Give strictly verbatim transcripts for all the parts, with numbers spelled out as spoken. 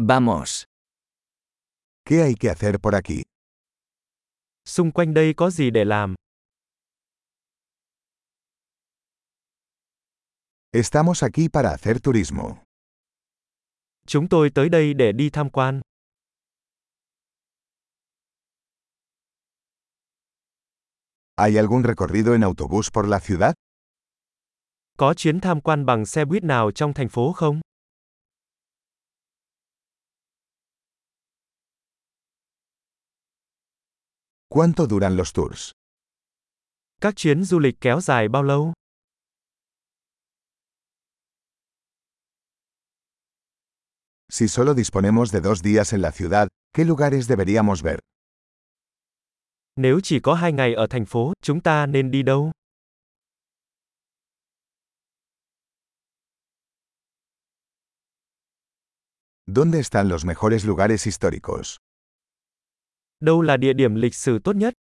Vamos. ¿Qué hay que hacer por aquí? Xung quanh đây có gì để làm? Estamos aquí para hacer turismo. Chúng tôi tới đây để đi tham quan. ¿Hay algún recorrido en autobús por la ciudad? Có chuyến tham quan bằng xe buýt nào trong thành phố không? ¿Cuánto duran los tours? Các chuyến du lịch kéo dài bao lâu? Si solo disponemos de dos días en la ciudad, ¿qué lugares deberíamos ver? Nếu chỉ có hai ngày ở thành phố, chúng ta nên đi đâu? ¿Dónde están los mejores lugares históricos? Đâu là địa điểm lịch sử tốt nhất?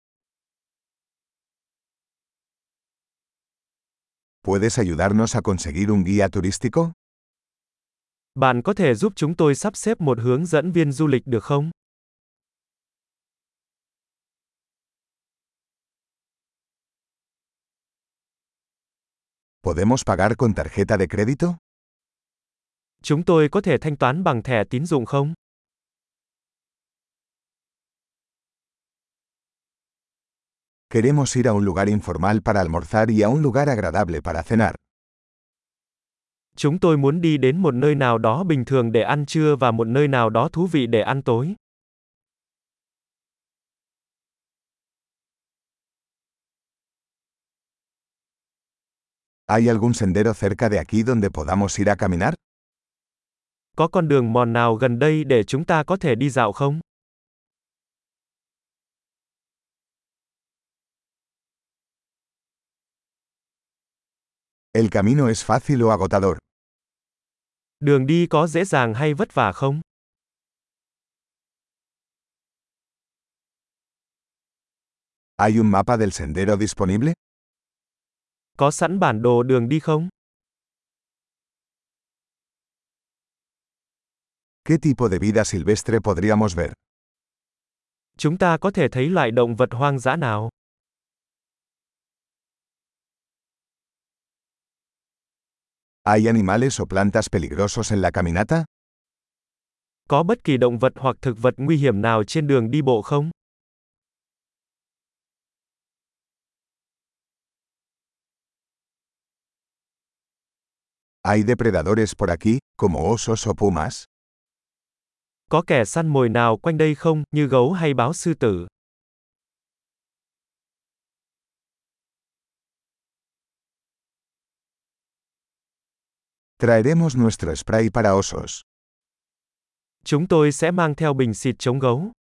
¿Puedes ayudarnos a conseguir un guía turístico? Bạn có thể giúp chúng tôi sắp xếp một hướng dẫn viên du lịch được không? ¿Podemos pagar con tarjeta de crédito? Chúng tôi có thể thanh toán bằng thẻ tín dụng không? Queremos ir a un lugar informal para almorzar y a un lugar agradable para cenar. Chúng tôi muốn đi đến một nơi nào đó bình thường để ăn trưa và một nơi nào đó thú vị để ăn tối. ¿Hay algún sendero cerca de aquí donde podamos ir a caminar? Có con đường mòn nào gần đây để chúng ta có thể đi dạo không? ¿El camino es fácil o agotador? Đường đi có dễ dàng hay vất vả không? ¿Hay un mapa del sendero disponible? Có sẵn bản đồ đường đi không? ¿Qué tipo de vida silvestre podríamos ver? Chúng ta có thể thấy loại động vật hoang dã nào? ¿Hay animales o plantas peligrosos en la caminata? Có bất kỳ động vật hoặc thực vật nguy hiểm nào trên đường đi bộ không? ¿Hay depredadores por aquí, como osos o pumas? Có kẻ săn mồi nào quanh đây không, như gấu hay báo sư tử? Traeremos nuestro spray para osos. Chúng tôi sẽ mang theo bình xịt chống gấu.